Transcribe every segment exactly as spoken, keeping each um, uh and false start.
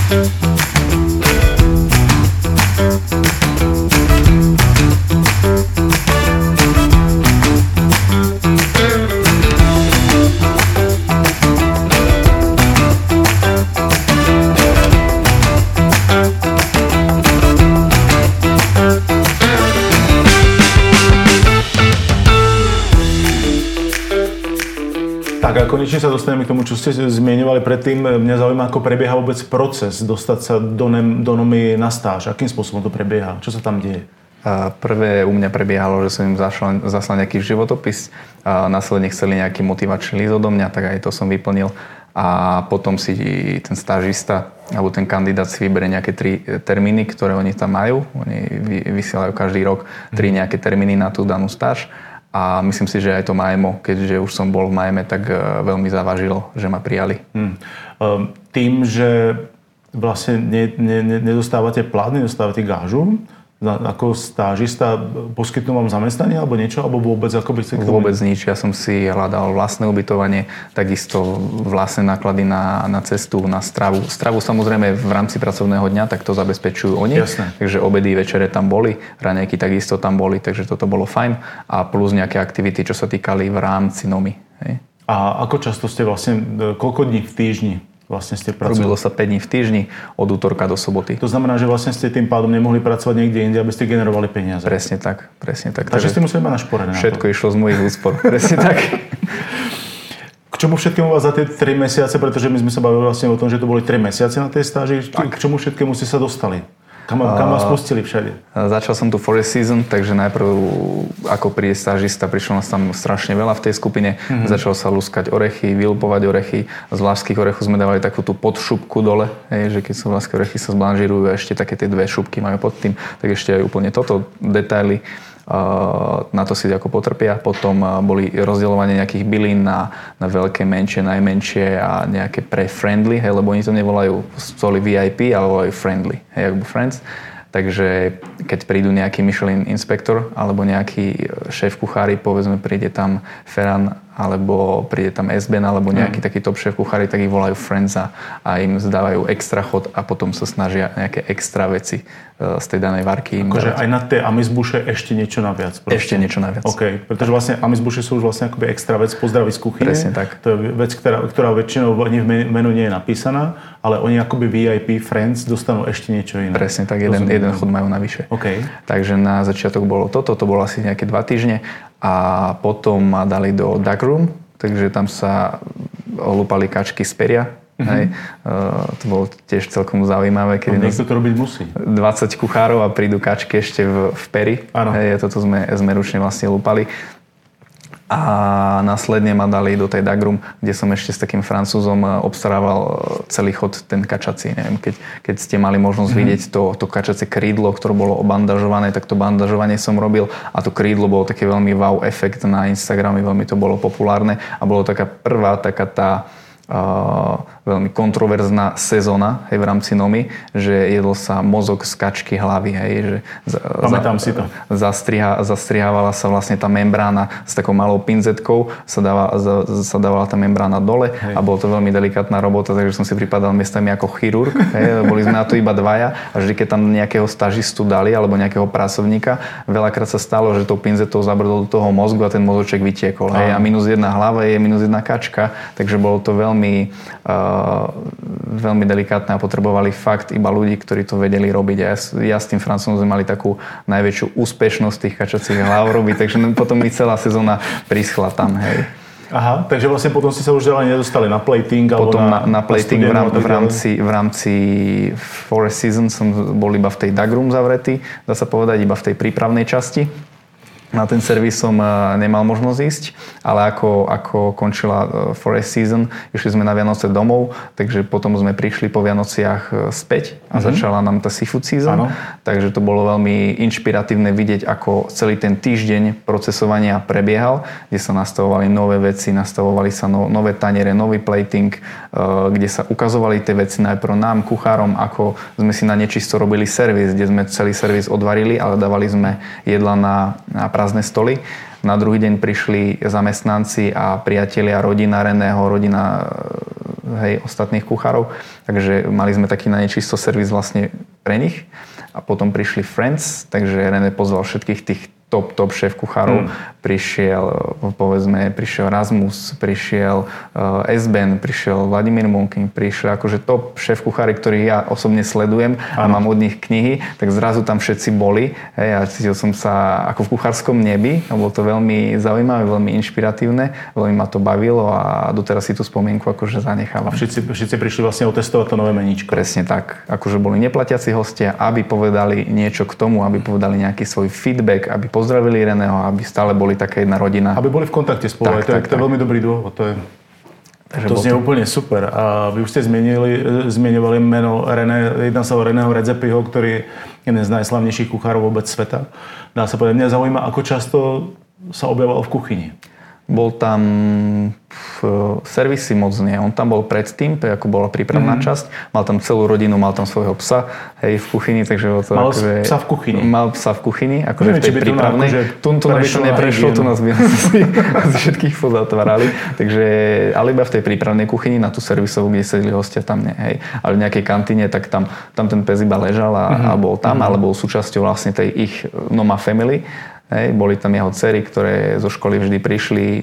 Tak a konečne sa dostaneme k tomu, čo ste zmieňovali predtým. Mňa zaujíma, ako prebieha vôbec proces dostať sa do, ne, do Nomy na stáž. Akým spôsobom to prebieha? Čo sa tam deje? A prvé u mňa prebiehalo, že som im zašla, zaslal nejaký životopis. A následne chceli nejaký motivačný list odo mňa, tak aj to som vyplnil. A potom si ten stážista alebo ten kandidát si vyberie nejaké tri termíny, ktoré oni tam majú. Oni vysielajú každý rok tri nejaké termíny na tú danú stáž. A myslím si, že aj to Miami, keďže už som bol v Miami, tak veľmi zavážilo, že ma prijali. Hmm. Tým, že vlastne ne, ne, nedostávate plat, nedostávate gážu, ako stážista poskytnú vám zamestnanie alebo niečo, alebo vôbec ako by ste k tomu... Vôbec nič. Ja som si hľadal vlastné ubytovanie, takisto vlastné náklady na, na cestu, na stravu. Stravu samozrejme v rámci pracovného dňa, tak to zabezpečujú oni. Jasné. Takže obedy, večere tam boli, raňajky takisto tam boli, takže toto bolo fajn. A plus nejaké aktivity, čo sa týkali v rámci Nomy. Hej. A ako často ste vlastne, koľko dní v týždni vlastne ste pracovali? Robilo sa päť dní v týždni, od útorka do soboty. To znamená, že vlastne ste tým pádom nemohli pracovať niekde inde, aby ste generovali peniaze. Presne tak, presne tak. Takže ste museli mať našporené. Všetko išlo z mojich úspor, presne tak. K čomu všetkému vás za tie tri mesiace, pretože my sme sa bavili vlastne o tom, že to boli tri mesiace na tej stáži, k čomu všetkému ste sa dostali? Kam, kam vás pustili všade? Začal som tu forest season, takže najprv ako príde stážista, prišlo nás tam strašne veľa v tej skupine. Mm-hmm. Začal sa luskať orechy, vylupovať orechy. Z vlášskych orechov sme dávali takú tú podšupku dole, hej, že keď sú vlášské orechy sa zblanžírujú a ešte také tie dve šupky majú pod tým, tak ešte aj úplne toto detaily. Na to si ako potrpia. Potom boli rozdeľovanie nejakých bylín na, na veľké, menšie, najmenšie a nejaké pre friendly, hej, lebo oni to nevolajú soli vé í pé, ale volajú friendly, hej, ako friends. Takže keď prídu nejaký Michelin inspektor alebo nejaký šéf kuchári, povedzme príde tam Ferran alebo príde tam Esben alebo nejaký mm. taký top šéf kuchári, tak ich volajú friends a, a im zdávajú extra chod a potom sa snažia nejaké extra veci z tej danej varky. Akože aj na tie amizbuše ešte niečo naviac. Proste. Ešte niečo naviac. OK, pretože vlastne amizbuše sú už vlastne akoby extra vec pozdraví z kuchyne. Presne tak. To je vec, ktorá, ktorá väčšinou ani v menu nie je napísaná, ale oni akoby vé í pé friends dostanú ešte niečo iné. Presne tak, jeden, jeden chod majú navyše. OK. Takže na začiatok bolo toto, to bolo asi nejaké dva týždne a potom ma dali do duck room, takže tam sa olúpali kačky z peria. Mm-hmm. Hej. Uh, to bolo tiež celkom zaujímavé. Keď no, niekto to robiť musí. dvadsať kuchárov a prídu kačky ešte v, v peri. Áno. Hej, toto sme, sme ručne vlastne lúpali. A následne ma dali do tej duck room, kde som ešte s takým Francúzom obstarával celý chod ten kačací. Neviem, keď, keď ste mali možnosť mm-hmm. vidieť to, to kačacie krídlo, ktoré bolo obandažované, tak to bandažovanie som robil a to krídlo bolo také veľmi wow efekt na Instagrame, veľmi to bolo populárne a bolo taká prvá taká tá Uh, veľmi kontroverzná sezóna hej, v rámci Nomy, že jedol sa mozog z kačky hlavy. Hej, že Pamätám za, si to. Zastriha, zastrihávala sa vlastne tá membrána s takou malou pinzetkou, sa, dáva, za, sa dávala tá membrána dole hej. A bolo to veľmi delikátna robota, takže som si pripadal miestami ako chirurg. Hej, boli sme na to iba dvaja a vždy, keď tam nejakého stažistu dali alebo nejakého pracovníka, veľakrát sa stalo, že tou pinzetou zabrdol do toho mozgu a ten mozoček vytiekol. Hej, a minus jedna hlava je minus jedna kačka, takže bolo to veľmi Veľmi, uh, veľmi delikátne a potrebovali fakt iba ľudí, ktorí to vedeli robiť. A ja, ja s tým Francúzom sme mali takú najväčšiu úspešnosť tých kačacích hlav robiť, takže potom mi celá sezóna prischla tam. Hej. Aha, takže vlastne potom ste sa už ďalej nedostali na plating alebo potom na, na, na plating na v, rám, v, rámci, v rámci forest season som bol iba v tej duck room zavretý, dá sa povedať, iba v tej prípravnej časti. Na ten servis som nemal možnosť ísť, ale ako, ako končila forest season, išli sme na Vianoce domov, takže potom sme prišli po Vianociach späť a mm-hmm. začala nám tá seafood season. Ano. Takže to bolo veľmi inšpiratívne vidieť, ako celý ten týždeň procesovania prebiehal, kde sa nastavovali nové veci, nastavovali sa no, nové taniere, nový plating, kde sa ukazovali tie veci najprv nám, kuchárom, ako sme si na nečisto robili servis, kde sme celý servis odvarili, ale dávali sme jedla na, na prázdne stoly. Na druhý deň prišli zamestnanci a priatelia rodina Reného, rodina hej, ostatných kuchárov. Takže mali sme taký na nečisto servis vlastne pre nich. A potom prišli Friends, takže René pozval všetkých tých top, top šéf kuchárov. Mm. Prišiel, povedzme, prišiel Rasmus, prišiel uh, Esben, prišiel Vladimír Monking, prišiel akože top šéf kuchári, ktorých ja osobne sledujem a mám od nich knihy, tak zrazu tam všetci boli. Hej, a cítil som sa ako v kuchárskom nebi a bolo to veľmi zaujímavé, veľmi inšpiratívne, veľmi ma to bavilo a doteraz si tú spomienku akože zanechávam. A všetci, všetci prišli vlastne otestovať to nové meníčko. Presne tak. Akože boli neplatiaci hostia, aby povedali niečo k tomu, aby povedali nejaký svoj feedback, aby pozdravili Reného, aby stále boli taká jedna rodina. Aby boli v kontakte spolu. Tak, to, tak, je, to je veľmi dobrý dôvod. To, je, to znie to... úplne super. A vy už ste zmienili, zmieňovali meno René, jedná sa o Reného Redzepiho, ktorý je jeden z najslavnejších kuchárov vôbec sveta. Dá sa povedať, mňa zaujíma, ako často sa objavoval v kuchyni. Bol tam v servisi moc nie. On tam bol predtým, ako bola prípravná mm. časť. Mal tam celú rodinu, mal tam svojho psa, hej, v kuchyni, takže to mal akože... psa v kuchyni? Mal psa v kuchyni, akože v tej prípravnej. Tu by to neprešlo, tu nás by asi všetkých pozatvárali. Takže, ale iba v tej prípravnej kuchyni, na tú servisovú, kde sedeli hostia, tam nie, hej. Ale v nejakej kantíne, tak tam, tam ten pes iba ležal a, mm. a bol tam, mm. ale bol súčasťou vlastne tej ich Noma Family. Hej, boli tam jeho dcery, ktoré zo školy vždy prišli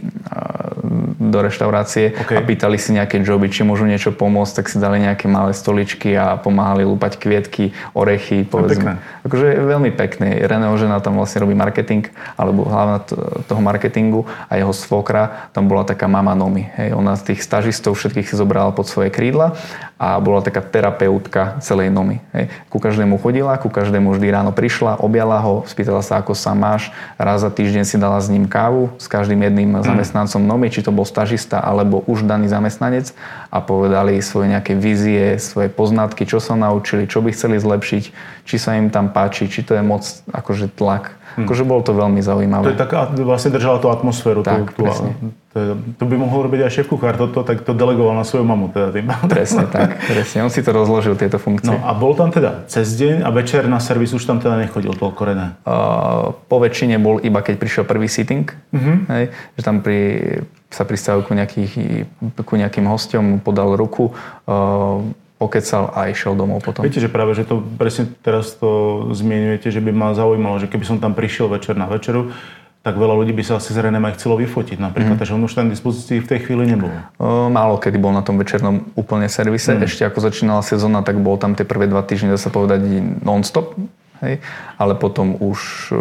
do reštaurácie okay. a pýtali si nejaké joby, či môžu niečo pomôcť, tak si dali nejaké malé stoličky a pomáhali lúpať kvietky, orechy, povedzme. Akože veľmi pekné. Reného žena tam vlastne robí marketing, alebo hlavne toho marketingu a jeho svokra tam bola taká mama Nomy. Hej, ona z tých stažistov všetkých si zobrala pod svoje krídla a bola taká terapeutka celej Nomy. Hej. Ku každému chodila, ku každému vždy ráno prišla, objala ho, spýtala sa, ako sa máš. Raz za týždeň si dala s ním kávu, s každým jedným mm. zamestnancom Nomy, či to bol stažista alebo už daný zamestnanec a povedali svoje nejaké vízie, svoje poznatky, čo sa naučili, čo by chceli zlepšiť, či sa im tam páči, či to je moc akože tlak. Hmm. Akože bolo to veľmi zaujímavé. To je taká, vlastne držala tú atmosféru. Tak, tú, presne. To, je, to by mohol robiť aj šéf-kuchár, toto tak to delegoval na svoju mamu. Teda tým. Presne tak, presne. On si to rozložil, tieto funkcie. No a bol tam teda cez deň a večer na servis už tam teda nechodil toľko René? Uh, po väčšine bol iba keď prišiel prvý sitting, uh-huh. hej, že tam pri, sa pristavil ku, nejakých, ku nejakým hosťom, podal ruku, uh, pokecal a išiel domov potom. Viete, že práve, že to presne teraz to zmienujete, že by ma zaujímalo, že keby som tam prišiel večer na večeru, tak veľa ľudí by sa asi s Renem aj chcelo vyfotiť napríklad, mm. takže on už tam k dispozícii v tej chvíli nebol. O, málo kedy bol na tom večernom úplne servise. Mm. Ešte ako začínala sezóna, tak bol tam tie prvé dva týždne, dá sa povedať, non-stop. Hej? Ale potom už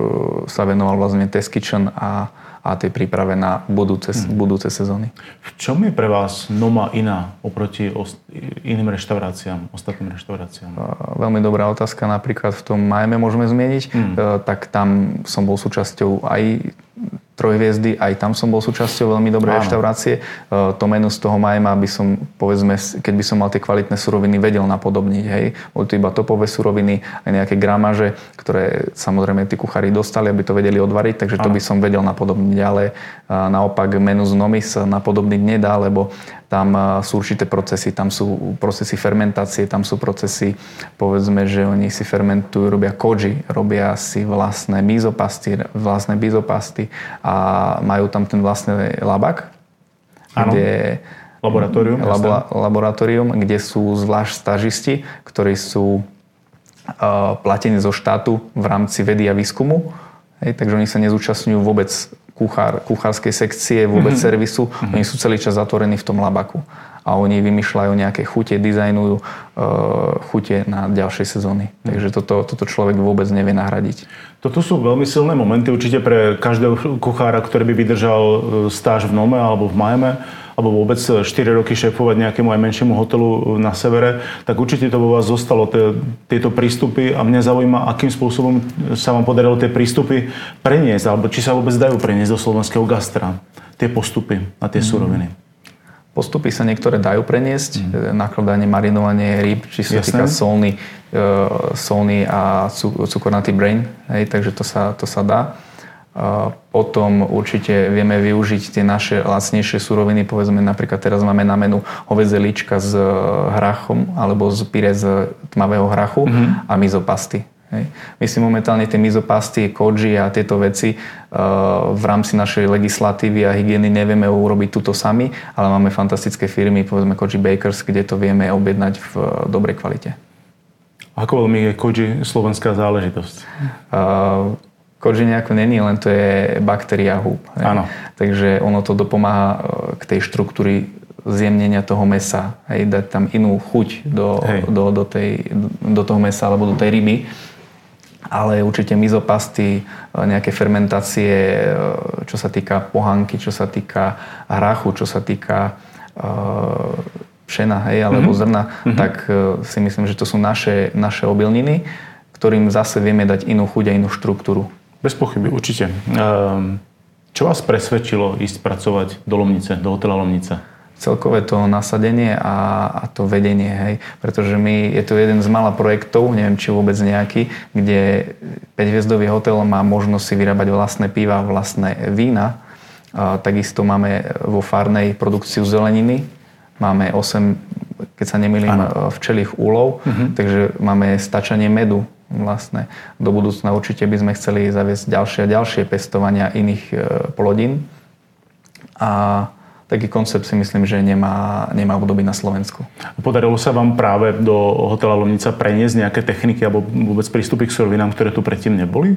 sa venoval vlastne test kitchen a a tej príprave na budúce, hmm. budúce sezóny. V čom je pre vás Noma iná oproti ost- iným reštauráciám, ostatným reštauráciám? Veľmi dobrá otázka. Napríklad v tom Miami môžeme zmieniť. Hmm. Tak tam som bol súčasťou aj trojhviezdy, aj tam som bol súčasťou veľmi dobrej Áno. reštaurácie. To menu z toho Miami by som, povedzme, keď by som mal tie kvalitné suroviny, vedel napodobniť. Hej. Boli to iba topové suroviny, aj nejaké gramaže, ktoré samozrejme tí kuchári dostali, aby to vedeli odvariť, takže to Áno. by som vedel napodobniť. Ale naopak menu z Nomy sa napodobniť nedá, lebo tam sú určité procesy, tam sú procesy fermentácie, tam sú procesy, povedzme, že oni si fermentujú, robia koji, robia si vlastné mizopasty, vlastné bizopasty a majú tam ten vlastný labak, ano. kde laboratórium, labo, laboratórium, kde sú zvlášť stažisti, ktorí sú uh, platení zo štátu v rámci vedy a výskumu. Hej, takže oni sa nezúčastňujú vôbec kuchár, kuchárskej sekcie, vôbec mm-hmm. servisu. Mm-hmm. Oni sú celý čas zatvorení v tom labaku. A oni vymýšľajú nejaké chute, dizajnujú uh, chute na ďalšej sezóny. Mm. Takže toto, toto človek vôbec nevie nahradiť. Toto sú veľmi silné momenty určite pre každého kuchára, ktorý by vydržal stáž v Nome alebo v Miami, alebo vôbec štyri roky šéfovať nejakému aj menšiemu hotelu na severe, tak určite to vo vás zostalo, tie, tieto prístupy a mňa zaujíma, akým spôsobom sa vám podarilo tie prístupy preniesť, alebo či sa vôbec dajú preniesť do slovenského gastra, tie postupy a tie mm. suroviny. Postupy sa niektoré dajú preniesť, mm. nakladanie, marinovanie rýb, či sa týka solný, uh, solný a cukornatý brain, hej, takže to sa, to sa dá. Uh, potom určite vieme využiť tie naše lacnejšie suroviny, povedzme napríklad teraz máme na menu hovädzie líčka s hrachom alebo z pyré z tmavého hrachu mm-hmm. a mizopasty. Hej. My si momentálne tie mizopasty, koji a tieto veci uh, v rámci našej legislatívy a hygieny nevieme urobiť túto sami, ale máme fantastické firmy, povedzme Koji Bakers, kde to vieme objednať v uh, dobrej kvalite. Ako veľmi je koji slovenská záležitosť? Uh, koji nejako není, len to je baktéria húb. Áno. Takže ono to dopomáha k tej štruktúry zjemnenia toho mesa. Hej, dať tam inú chuť do, do, do, tej, do toho mesa alebo do tej ryby. Ale určite mizopasty, nejaké fermentácie, čo sa týka pohanky, čo sa týka hrachu, čo sa týka uh, pšena, hej, alebo mm-hmm. zrna, mm-hmm. tak uh, si myslím, že to sú naše, naše obilniny, ktorým zase vieme dať inú chuť a inú štruktúru. Bez pochyby, určite. Um, čo vás presvedčilo ísť pracovať do Lomnice, do hotela Lomnica? Celkové to nasadenie a, a to vedenie, hej. Pretože my, je to jeden z mála projektov, neviem či vôbec nejaký, kde päťhviezdový hotel má možnosť si vyrábať vlastné piva, vlastné vína. A takisto máme vo farnej produkciu zeleniny. Máme osem, keď sa nemýlim, ano. včelích úlov, uh-huh. takže máme stačanie medu vlastné. Do budúcna určite by sme chceli zaviesť ďalšie a ďalšie pestovania iných e, plodín. A taký koncept si myslím, že nemá, nemá období na Slovensku. Podarilo sa vám práve do hotela Lomnica preniesť nejaké techniky alebo vôbec prístupy k surovinám, ktoré tu predtým neboli?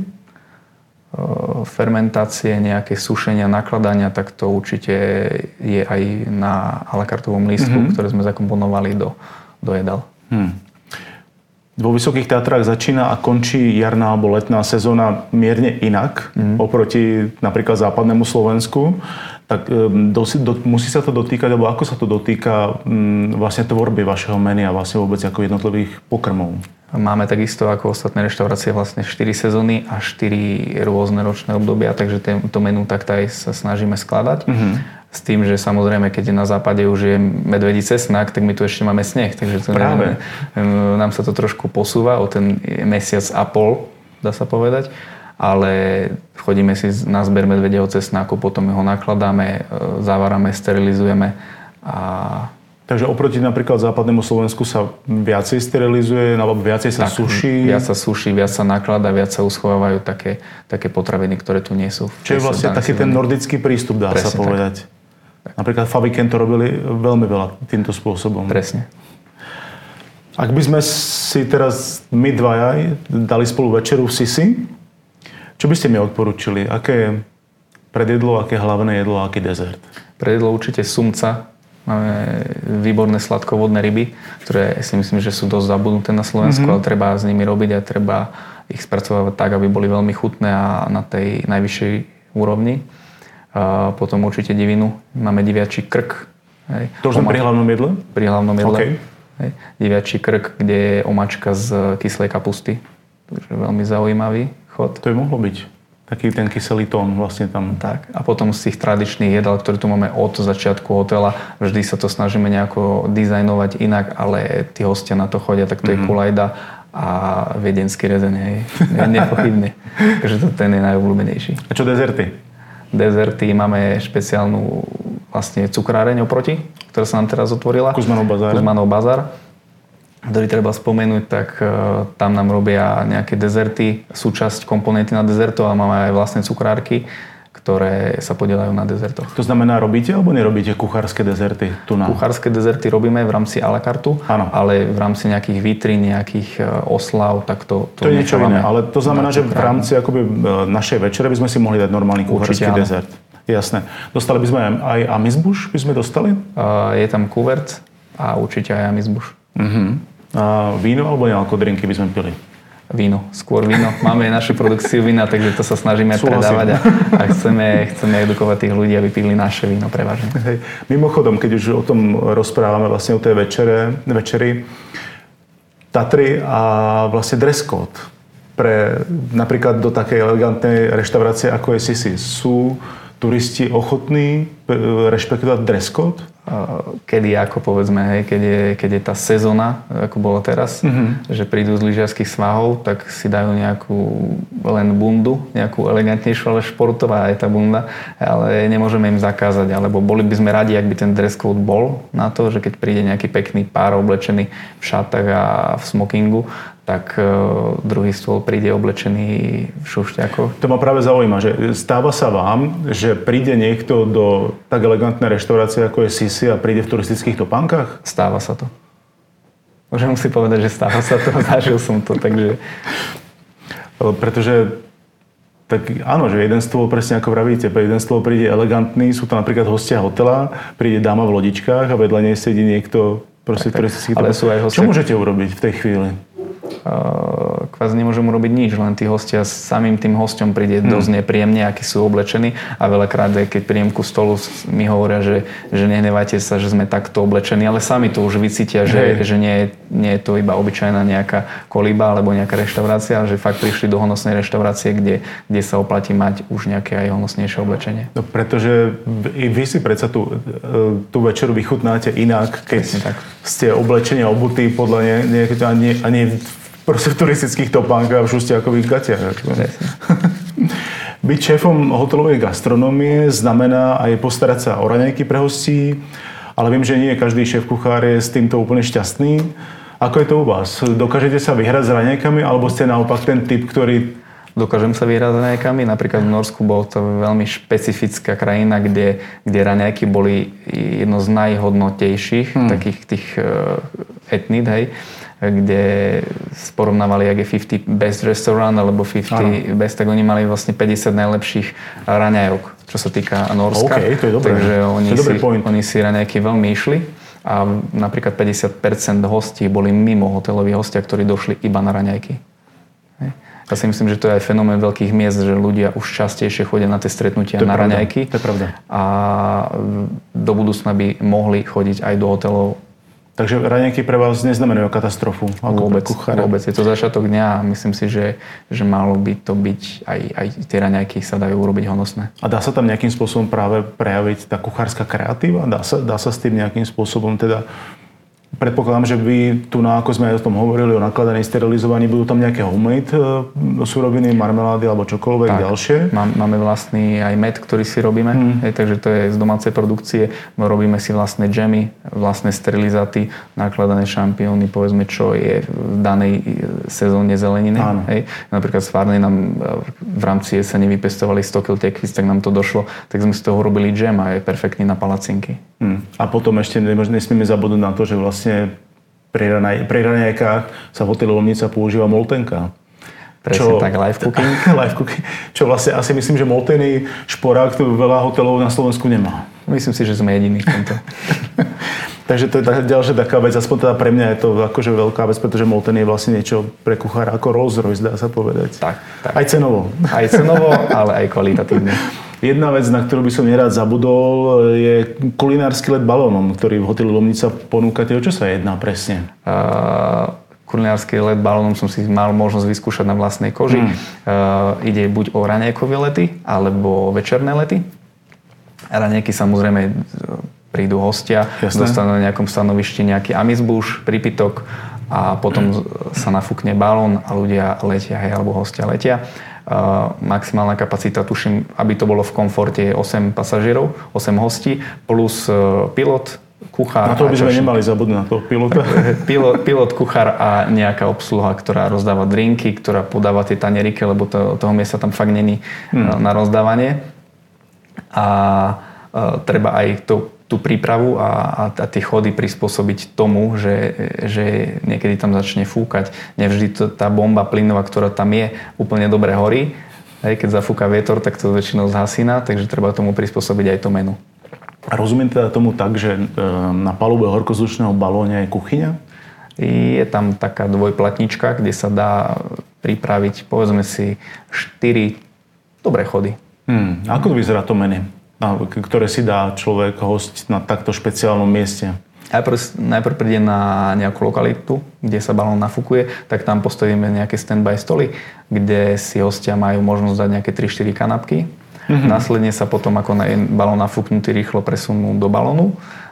Fermentácie, nejaké sušenia, nakladania, tak to určite je aj na à la cartovom lístku, mm-hmm. ktoré sme zakomponovali do, do jedál. Hmm. Vo Vysokých Tatrách začína a končí jarná alebo letná sezóna mierne inak mm-hmm. oproti napríklad západnému Slovensku. Tak do, do, musí sa to dotýkať, alebo ako sa to dotýka m, vlastne tvorby vašeho menu a vlastne vôbec ako jednotlivých pokrmov? Máme takisto ako ostatné reštaurácie vlastne štyri sezóny a štyri rôzne ročné obdobia, takže to menu takto aj sa snažíme skladať. Mm-hmm. S tým, že samozrejme, keď na západe už je medvedí cesnak, tak my tu ešte máme sneh, takže to neviem, nám sa to trošku posúva o ten mesiac a pol, dá sa povedať. Ale chodíme si na zber medvedieho cesnáku, potom ho nakladáme, zavárame, sterilizujeme. A... Takže oproti napríklad západnému Slovensku sa viacej sterilizuje, alebo viacej sa tak, suší? Viac sa suší, viac sa nakladá, viac sa uschovávajú také, také potraviny, ktoré tu nie sú. Čo je vlastne taký ten nordický prístup, dá Presne sa povedať. Tak. Napríklad Faviken to robili veľmi veľa týmto spôsobom. Presne. Ak by sme si teraz my dvaja dali spolu večeru v Sisi, čo by ste mi odporúčili? Aké predjedlo, aké hlavné jedlo a aký dezert? Predjedlo určite sumca. Máme výborné sladkovodné ryby, ktoré si myslím, že sú dosť zabudnuté na Slovensku, mm-hmm. ale treba s nimi robiť a treba ich spracovať tak, aby boli veľmi chutné a na tej najvyššej úrovni. A potom určite divinu. Máme diviačí krk. Hej. To už sme pri hlavnom jedle? Pri hlavnom jedle. Okay. Hej. Diviačí krk, kde je omačka z kyslej kapusty. Takže veľmi zaujímavý chod. To by mohlo byť. Taký ten kyselý tón vlastne tam. Tak. A potom z tých tradičných jedál, ktoré tu máme od začiatku hotela, vždy sa to snažíme nejako dizajnovať inak, ale tí hostia na to chodia, tak to mm-hmm. je kulajda a viedenský rezeň, hej. Nepochybne. Takže to ten je najobľúbenejší. A čo dezerty? Dezerty máme špeciálnu vlastne cukráreň oproti, ktorá sa nám teraz otvorila. Kuzmanov bazár. Kuzmanov bazár. Ktorý treba spomenúť, tak uh, tam nám robia nejaké dezerty, súčasť komponenty na dezertov, ale máme aj vlastné cukrárky, ktoré sa podielajú na dezertoch. To znamená, robíte alebo nerobíte kuchárske dezerty tu na? Kuchárske dezerty robíme v rámci à la carte, ale v rámci nejakých vitrín, nejakých oslav, tak to... To, to je niečo iné, ale to znamená, že v rámci akoby našej večere by sme si mohli dať normálny kuchársky dezert. Jasné. Dostali by sme aj amizbuš, by sme dostali? Uh, je tam kuvert a určite aj amizbuš. Uh-huh. A víno alebo nejaké drinky by sme pili? Víno, skôr víno. Máme našu produkciu vína, takže to sa snažíme Súhlasím. predávať a, a chceme, chceme edukovať tých ľudí, aby pili naše víno prevažne. Hej. Mimochodom, keď už o tom rozprávame vlastne o tej večere, večeri, Tatry a vlastne dress code pre napríklad do takej elegantnej reštaurácie ako je Sisi. Sú turisti ochotní rešpektovať dress code? kedy ako povedzme, hej, keď je, keď je tá sezóna, ako bolo teraz, mm-hmm. že prídu z lyžiarskych svahov, tak si dajú nejakú len bundu, nejakú elegantnejšiu, ale športová je tá bunda, ale nemôžeme im zakázať, alebo boli by sme radi, ak by ten dress code bol na to, že keď príde nejaký pekný pár oblečený v šatách a v smokingu, tak uh, druhý stôl príde oblečený v šušťakoch. To ma práve zaujíma, že stáva sa vám, že príde niekto do tak elegantnej reštaurácie, ako je Sisi a príde v turistických topánkach? Stáva sa to. Môžem si povedať, že stáva sa to, zažil som to, takže... Pretože tak áno, že jeden stôl, presne ako vravíte, jeden stôl príde elegantný, sú to napríklad hostia hotela, príde dáma v lodičkách a vedľa nej sedí niekto proste v turistických topánkach. Čo môžete urobiť v tej chvíli? Kvázi nemôžem urobiť nič, len tí hostia samým tým hosťom príde hmm. dosť nepríjemne, akí sú oblečení a veľakrát, keď príjem ku stolu, mi hovoria, že, že nehnevajte sa, že sme takto oblečení, ale sami to už vycítia, že, že nie, nie je to iba obyčajná nejaká kolíba alebo nejaká reštaurácia, že fakt prišli do honosnej reštaurácie, kde, kde sa oplatí mať už nejaké aj honosnejšie oblečenie. No, pretože vy, vy si predsa tú, tú večeru vychutnáte inak, keď ste oblečení a obutí podľa nie, nie, a nie, a nie proste v turistických topánkach a v šustiakových gatiach. Byť šéfom hotelovej gastronómie znamená aj postarať sa o raňajky pre hostí, ale viem, že nie každý šéf kuchár je s týmto úplne šťastný. Ako je to u vás? Dokážete sa vyhrať s raňajkami, alebo ste naopak ten typ, ktorý... Dokážem sa vyhrať s raňajkami. Napríklad v Norsku bol to veľmi špecifická krajina, kde, kde raňajky boli jedno z najhodnotejších hmm. takých tých uh, etnít, hej, kde porovnávali, jak je päťdesiat best restaurant alebo päťdesiat ano. best, tak oni mali vlastne päťdesiat najlepších raňajok, čo sa týka Norska. Okay, to je dobré. Takže oni, to je si, oni si raňajky veľmi išli a napríklad päťdesiat percent hostí boli mimo hoteloví hostia, ktorí došli iba na raňajky. Ja si myslím, že to je aj fenomén veľkých miest, že ľudia už častejšie chodia na tie stretnutia na pravda. raňajky. To je pravda. A do budúcna by mohli chodiť aj do hotelov. Takže raňajky pre vás neznamenajú katastrofu? Vôbec, vôbec. Je to začiatok dňa a myslím si, že, že malo by to byť, aj, aj tie raňajky sa dajú urobiť honosné. A dá sa tam nejakým spôsobom práve prejaviť tá kuchárska kreatíva? Dá sa, dá sa s tým nejakým spôsobom teda... Predpokladám, že vy tu, na, ako sme aj o tom hovorili, o nakladaní, sterilizovaní, budú tam nejaké homemade suroviny, marmelády alebo čokoľvek tak, ďalšie? Máme vlastný aj med, ktorý si robíme, hmm. hej, takže to je z domácej produkcie. Robíme si vlastné džemy, vlastné sterilizáty, nakladané šampióny, povedzme, čo je v danej sezóne zeleniny. Hej. Napríklad z Farnej nám v rámci jesene vypestovali sto kilogramov tekvíc, tak nám to došlo, tak sme z toho robili džem a je perfektný na palacinky. Hmm. A potom ešte nesmieme zabudnúť na to, že vlastne pri, ranaj, pri raňajkách sa v hoteli Lomnica používa moltenka. Presne čo, tak, live cooking. live cooking. Čo vlastne asi myslím, že moltený šporák tu veľa hotelov na Slovensku nemá. Myslím si, že sme jediní v tomto. Takže to je ďalšia taká vec, aspoň teda pre mňa je to akože veľká vec, pretože moltený je vlastne niečo pre kuchára ako Rolls Royce, dá sa povedať. Tak, tak. Aj cenovo. Aj cenovo, ale aj kvalitatívne. Jedna vec, na ktorú by som nerád zabudol, je kulinársky let balónom, ktorý v hoteli Lomnica ponúkate. O čo sa jedná presne? Uh, kulinársky let balónom som si mal možnosť vyskúšať na vlastnej koži. Hmm. Uh, ide buď o raňajkové lety, alebo večerné lety. Raňajky samozrejme prídu hostia, Jasné. dostanú na nejakom stanovišti nejaký amizbuš, prípitok a potom sa nafúkne balón a ľudia letia, hej, alebo hostia letia. Uh, maximálna kapacita, tuším, aby to bolo v komforte, je osem pasažierov, osem hostí, plus uh, pilot, kuchár. Na to by sme nemali zabudnúť na toho pilota. pilot, pilot, kuchár a nejaká obsluha, ktorá rozdáva drinky, ktorá podáva tie tanieriky, lebo to, toho miesta tam fakt není hmm. na rozdávanie. A uh, treba aj to tú prípravu a, a, a tie chody prispôsobiť tomu, že, že niekedy tam začne fúkať. Nevždy to, tá bomba plynová, ktorá tam je, úplne dobre horí. Hej, keď zafúka vietor, tak to väčšinou zhasína, takže treba tomu prispôsobiť aj to menu. A rozumiem teda tomu tak, že na palube horkozdušného balóne je kuchyňa? Je tam taká dvojplatnička, kde sa dá pripraviť, povedzme si, štyri dobré chody. Hmm. Ako to vyzerá to menu, ktoré si dá človek, host na takto špeciálnom mieste? Najprv, najprv príde na nejakú lokalitu, kde sa balón nafúkuje, tak tam postavíme nejaké stand-by stoly, kde si hostia majú možnosť dať nejaké tri štyri kanapky. Mm-hmm. Následne sa potom, ako je balón nafúknutý, rýchlo presunú do balónu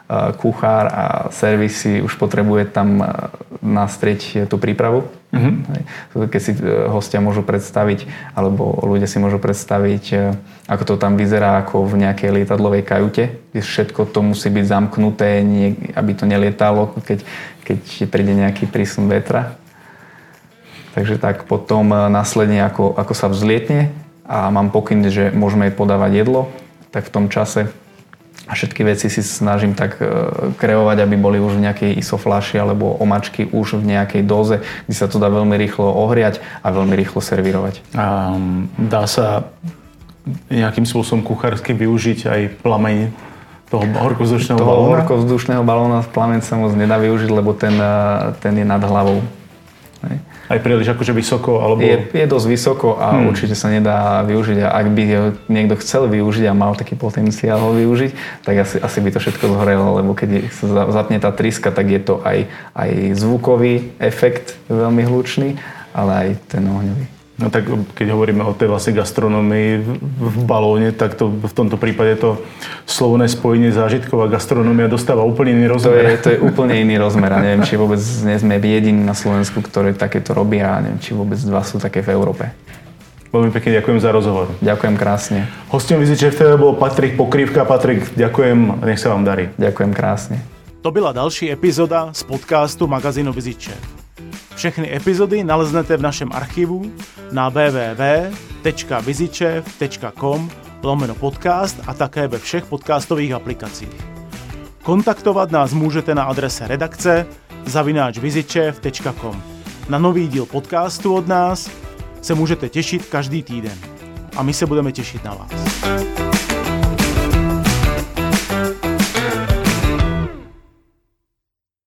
kuchár a servisy už potrebuje tam nastrieť tú prípravu. Mm-hmm. Keď si hostia môžu predstaviť, alebo ľudia si môžu predstaviť, ako to tam vyzerá ako v nejakej lietadlovej kajute, kde všetko to musí byť zamknuté, aby to nelietalo, keď, keď príde nejaký prísun vetra. Takže tak potom následne, ako, ako sa vzlietne a mám pokyn, že môžeme podávať jedlo, tak v tom čase a všetky veci si snažím tak kreovať, aby boli už v nejakej isoflaši alebo omačky už v nejakej doze, kde sa to dá veľmi rýchlo ohriať a veľmi rýchlo servírovať. A dá sa nejakým spôsobom kuchársky využiť aj plameň toho horkovzdušného toho balóna? Toho horkovzdušného balóna plameň sa moc nedá využiť, lebo ten, ten je nad hlavou. Hej. Aj príliš akože vysoko? Alebo... Je, je dosť vysoko a hmm. určite sa nedá využiť. A ak by niekto chcel využiť a mal taký potenciál ho využiť, tak asi, asi by to všetko zhorelo, lebo keď sa zapne tá tryska, tak je to aj, aj zvukový efekt veľmi hlučný, ale aj ten ohňový. No tak keď hovoríme o tej vlastne gastronómii v balóne, tak to v tomto prípade to slovné spojenie zážitková gastronómia dostáva úplne iný rozmer. To je, to je úplne iný rozmer a neviem, či vôbec nie sme jediní na Slovensku, ktorí takéto robia a neviem, či vôbec dva sú také v Európe. Veľmi pekne ďakujem za rozhovor. Ďakujem krásne. Hostom VizitChef té vé bol Patrik Pokrývka. Patrik, ďakujem, nech sa vám darí. Ďakujem krásne. To byla další epizoda z podcastu magazínu VizitChef. Všechny epizody naleznete v našem archivu na w w w tečka vizitchef tečka com lomeno podcast a také ve všech podcastových aplikacích. Kontaktovat nás můžete na adrese redakce zavináč vizitchef tečka com. Na nový díl podcastu od nás se můžete těšit každý týden. A my se budeme těšit na vás.